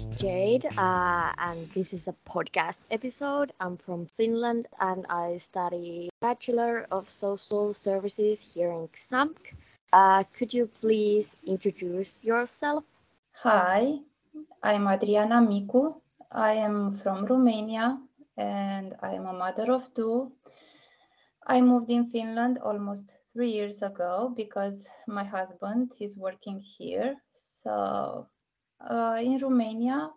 is Jade, and this is a podcast episode. I'm from Finland, and I study Bachelor of Social Services here in XAMK. Could you please introduce yourself? Hi, I'm Adriana Micu. I am from Romania and I am a mother of two. I moved in Finland almost 3 years ago because my husband is working here. So in Romania,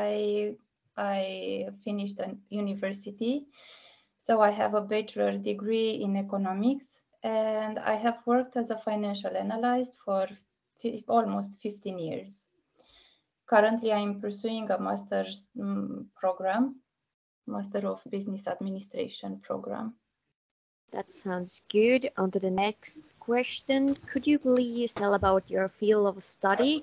I finished a university. So I have a bachelor degree in economics and I have worked as a financial analyst for almost 15 years. Currently, I'm pursuing a master's program, Master of Business Administration program. That sounds good. On to the next question. Could you please tell about your field of study?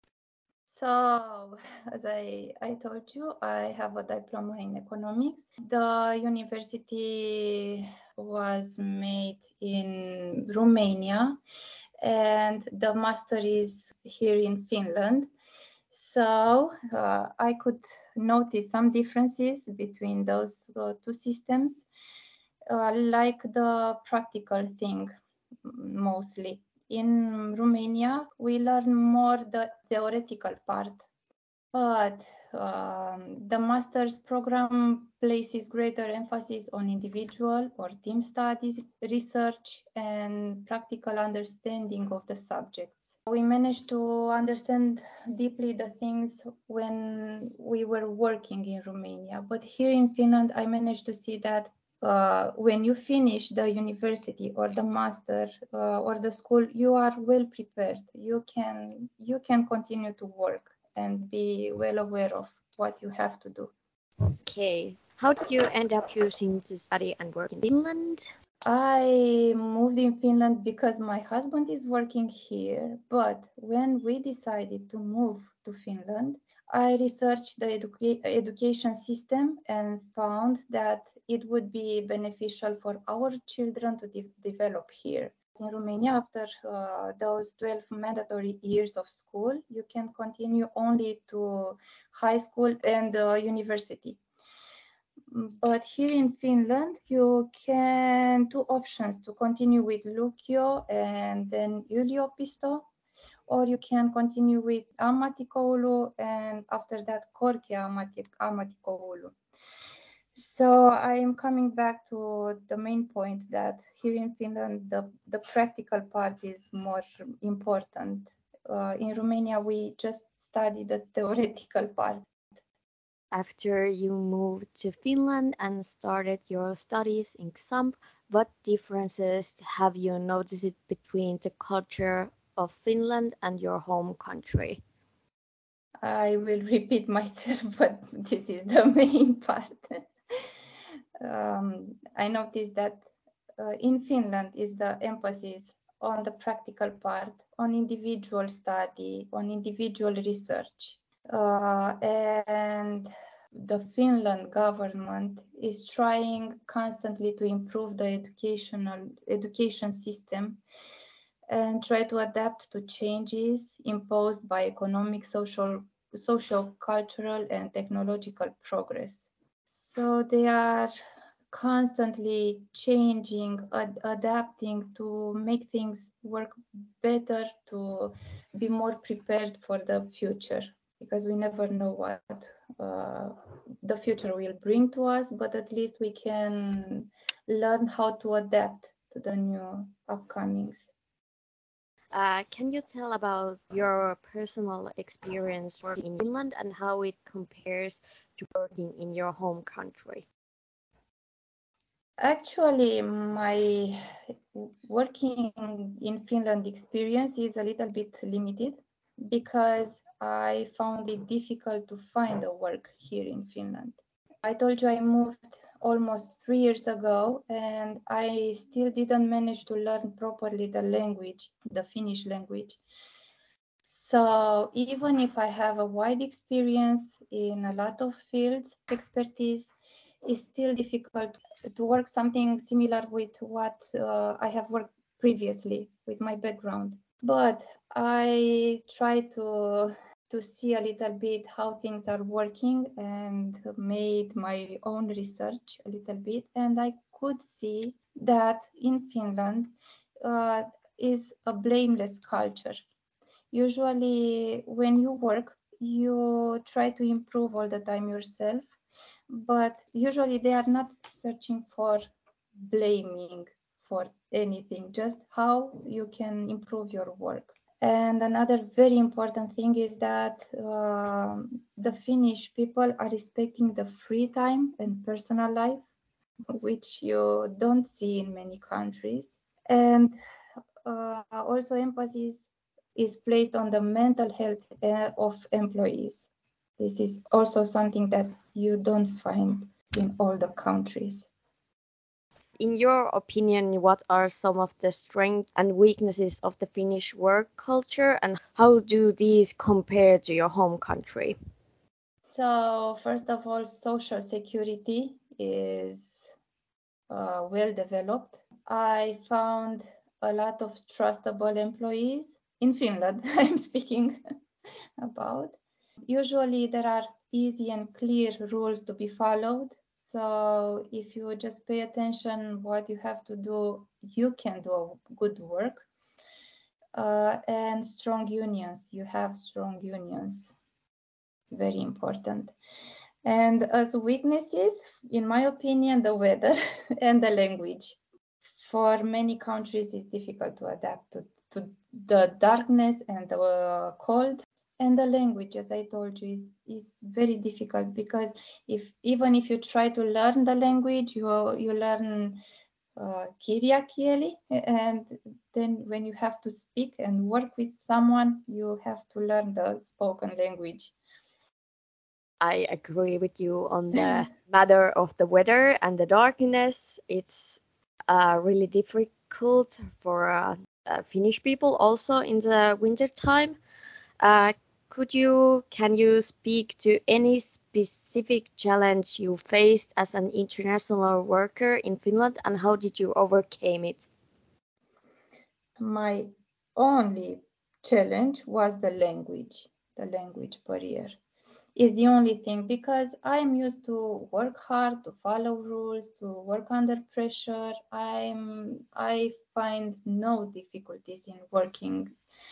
So, as I told you, I have a diploma in economics. The university was made in Romania and the master is here in Finland. So I could notice some differences between those two systems, like the practical thing mostly. In Romania, we learn more the theoretical part, but the master's program places greater emphasis on individual or team studies, research, and practical understanding of the subjects. We managed to understand deeply the things when we were working in Romania, but here in Finland, I managed to see that when you finish the university or the master or the school, you are well prepared. You can continue to work and be well aware of what you have to do. Okay. How did you end up choosing to study and work in Finland? I moved in Finland because my husband is working here, but when we decided to move to Finland, I researched the education system and found that it would be beneficial for our children to develop here. In Romania, after those 12 mandatory years of school, you can continue only to high school and university. But here in Finland, you can two options to continue with Lukio and then yliopisto, or you can continue with ammattikoulu and after that Korkea ammattikoulu. So I am coming back to the main point that here in Finland, the practical part is more important. In Romania, we just study the theoretical part. After you moved to Finland and started your studies in XAMP, what differences have you noticed between the culture of Finland and your home country? I will repeat myself, but this is the main part. I noticed that in Finland is the emphasis on the practical part, on individual study, on individual research. And the Finland government is trying constantly to improve the education system and try to adapt to changes imposed by economic, social, cultural, and technological progress. So they are constantly changing, adapting to make things work better, to be more prepared for the future, because we never know what the future will bring to us, but at least we can learn how to adapt to the new upcomings. Can you tell about your personal experience working in Finland and how it compares to working in your home country? Actually, my working in Finland experience is a little bit limited because I found it difficult to find a work here in Finland. I told you I moved almost 3 years ago and I still didn't manage to learn properly the language, the Finnish language. So even if I have a wide experience in a lot of fields, expertise, it's still difficult to work something similar with what I have worked previously with my background. But I try to to see a little bit how things are working and made my own research a little bit. And I could see that in Finland is a blameless culture. Usually, when you work, you try to improve all the time yourself, but usually they are not searching for blaming for anything, just how you can improve your work. And another very important thing is that the Finnish people are respecting the free time and personal life, which you don't see in many countries. And also emphasis is placed on the mental health of employees. This is also something that you don't find in all the countries. In your opinion, what are some of the strengths and weaknesses of the Finnish work culture, and how do these compare to your home country? So, first of all, social security is well developed. I found a lot of trustable employees in Finland, I'm speaking about. Usually, there are easy and clear rules to be followed. So if you just pay attention what you have to do, you can do good work. And strong unions. You have strong unions. It's very important. And as weaknesses, in my opinion, the weather and the language. For many countries, it's difficult to adapt to the darkness and the cold. And the language, as I told you, is very difficult because even if you try to learn the language, you learn kirja kieli, and then when you have to speak and work with someone, you have to learn the spoken language. I agree with you on the matter of the weather and the darkness. It's really difficult for Finnish people also in the winter time. Can you speak to any specific challenge you faced as an international worker in Finland, and how did you overcome it? My only challenge was the language barrier. Is the only thing because I'm used to work hard, to follow rules, to work under pressure. I find no difficulties in working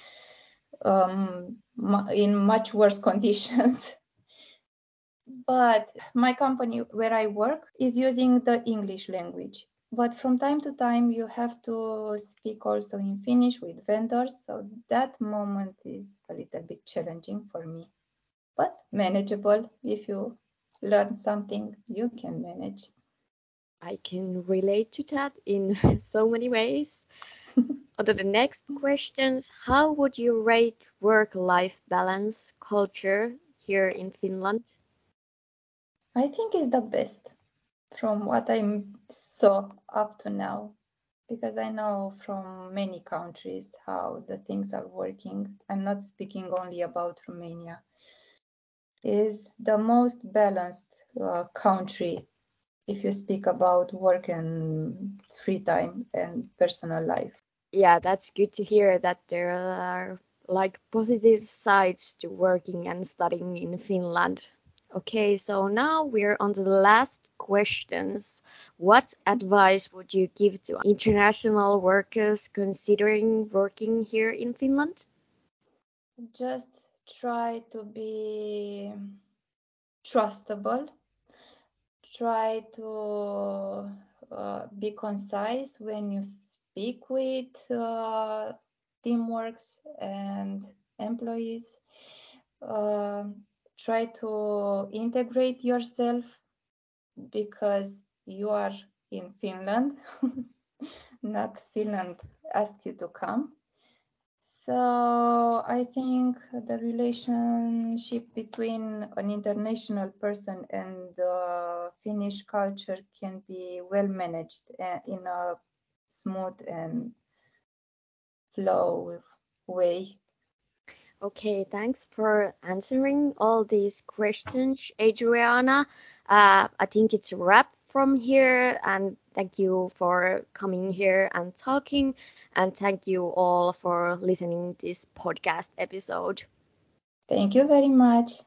in much worse conditions. But my company where I work is using the English language. But from time to time, you have to speak also in Finnish with vendors. So that moment is a little bit challenging for me, but manageable. If you learn something, you can manage. I can relate to that in so many ways. On to the next questions. How would you rate work-life balance culture here in Finland? I think it's the best from what I saw up to now, because I know from many countries how the things are working. I'm not speaking only about Romania. Is the most balanced country if you speak about work and free time and personal life. Yeah, that's good to hear that there are like positive sides to working and studying in Finland. Okay, so now we're on to the last questions. What advice would you give to international workers considering working here in Finland? Just try to be trustable. Try to be concise when you speak with teamworks and employees. Try to integrate yourself because you are in Finland, not Finland asked you to come. So I think the relationship between an international person and the Finnish culture can be well managed in a smooth and flow way. Okay, thanks for answering all these questions, Adriana. I think it's a wrap from here, and thank you for coming here and talking, and thank you all for listening this podcast episode. Thank you very much.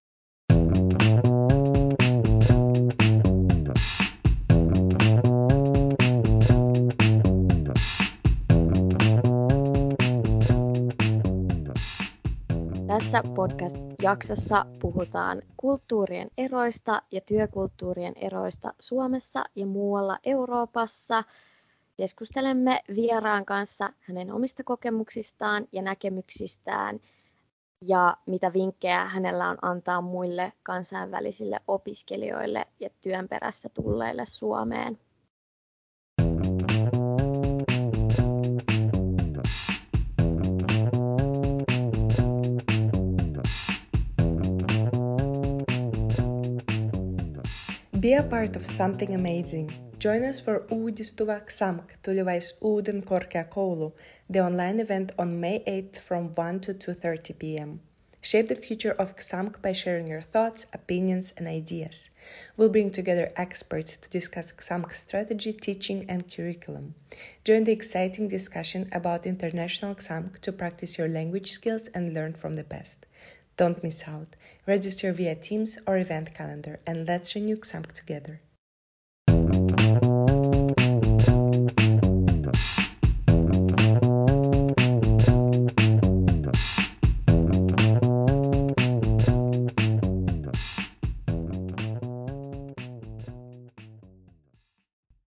Tässä podcast-jaksossa puhutaan kulttuurien eroista ja työkulttuurien eroista Suomessa ja muualla Euroopassa. Keskustelemme vieraan kanssa hänen omista kokemuksistaan ja näkemyksistään ja mitä vinkkejä hänellä on antaa muille kansainvälisille opiskelijoille ja työn perässä tulleille Suomeen. Be a part of something amazing. Join us for Uudistuva XAMK Tulevaisuuden Uuden Korkeakoulu, the online event on May 8th from 1 to 2:30 p.m. Shape the future of XAMK by sharing your thoughts, opinions, and ideas. We'll bring together experts to discuss XAMK strategy, teaching, and curriculum. Join the exciting discussion about international XAMK to practice your language skills and learn from the best. Don't miss out. Register via Teams or event calendar, and let's renew XAMK together.